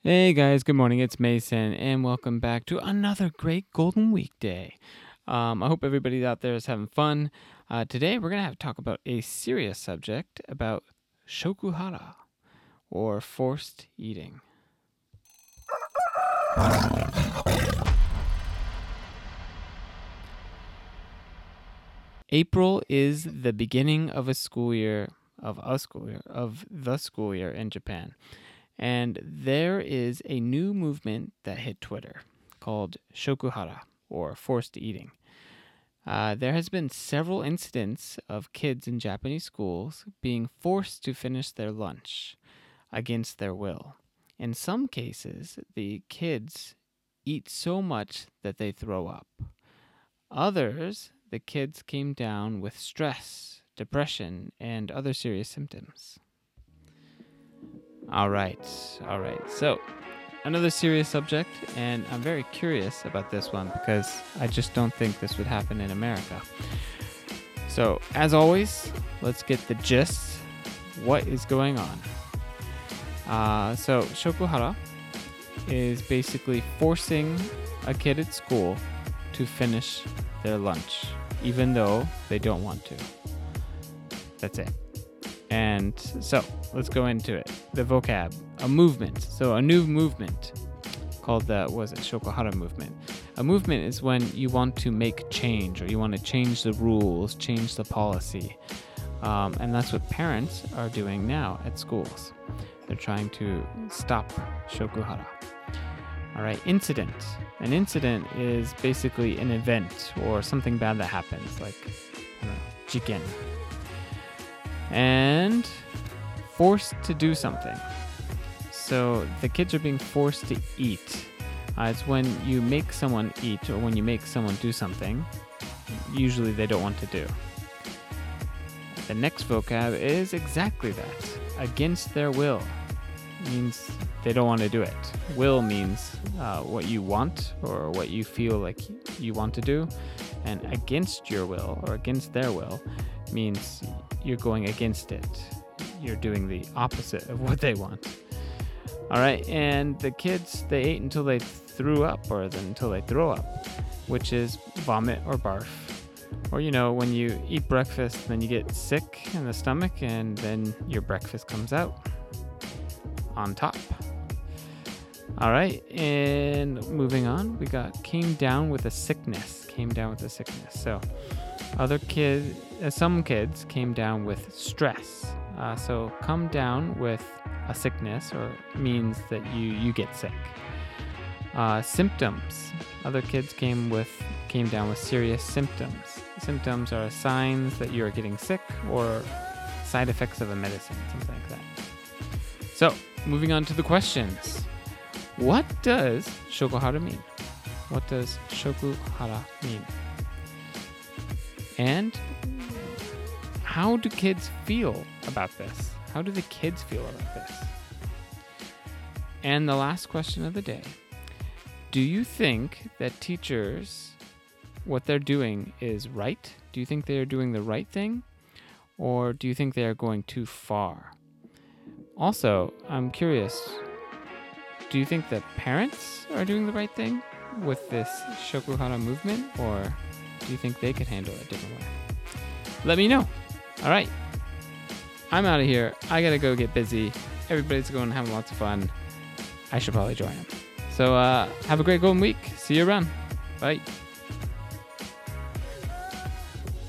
Hey guys, good morning. It's Mason, and welcome back to another great Golden Week day. I hope everybody out there is having fun. Today, we're going to have to talk about a serious subject about shokuhara, or forced eating. April is the beginning of the school year in Japan. And there is a new movement that hit Twitter called shokuhara, or forced eating. There has been several incidents of kids in Japanese schools being forced to finish their lunch against their will. In some cases, the kids eat so much that they throw up. Others, the kids came down with stress, depression, and other serious symptoms. All right. So, another serious subject, and I'm very curious about this one because I just don't think this would happen in America. So, as always, let's get the gist. What is going on? So, shokuhara is basically forcing a kid at school to finish their lunch, even though they don't want to. That's it. And so, let's go into it. The vocab, a movement. So a new movement called the shokuhara movement. A movement is when you want to make change, or you want to change the rules, change the policy. And that's what parents are doing now at schools. They're trying to stop shokuhara. All right, incident. An incident is basically an event or something bad that happens, like, jiken. And forced to do something. So the kids are being forced to eat. It's when you make someone eat, or when you make someone do something usually they don't want to do. The next vocab is exactly that. Against their will. Means they don't want to do it. Will means what you want or what you feel like you want to do. And against your will, or against their will, means you're going against it. You're doing the opposite of what they want. All right, and the kids, they ate until they threw up, or until they throw up, which is vomit or barf. Or, when you eat breakfast, then you get sick in the stomach, and then your breakfast comes out on top. All right, and moving on, we got came down with a sickness. So some kids came down with stress. So come down with a sickness, or means that you get sick. Symptoms. Other kids came down with serious symptoms. Symptoms are signs that you are getting sick, or side effects of a medicine, something like that. So, moving on to the questions. What does shokuhara mean? What does shokuhara mean? And how do kids feel about this? How do the kids feel about this? And the last question of the day. Do you think that teachers, what they're doing is right? Do you think they are doing the right thing? Or do you think they are going too far? Also, I'm curious, do you think that parents are doing the right thing with this shokuhara movement? Or do you think they could handle it a different way? Let me know. All right. I'm out of here. I got to go get busy. Everybody's going and having lots of fun. I should probably join them. So have a great golden week. See you around. Bye.